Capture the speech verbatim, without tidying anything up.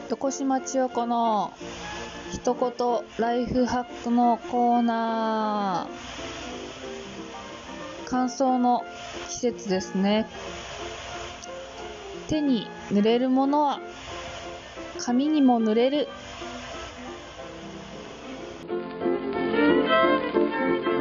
横島千代子の一言ライフハックのコーナー。乾燥の季節ですね。手に塗れるものは髪にも塗れる。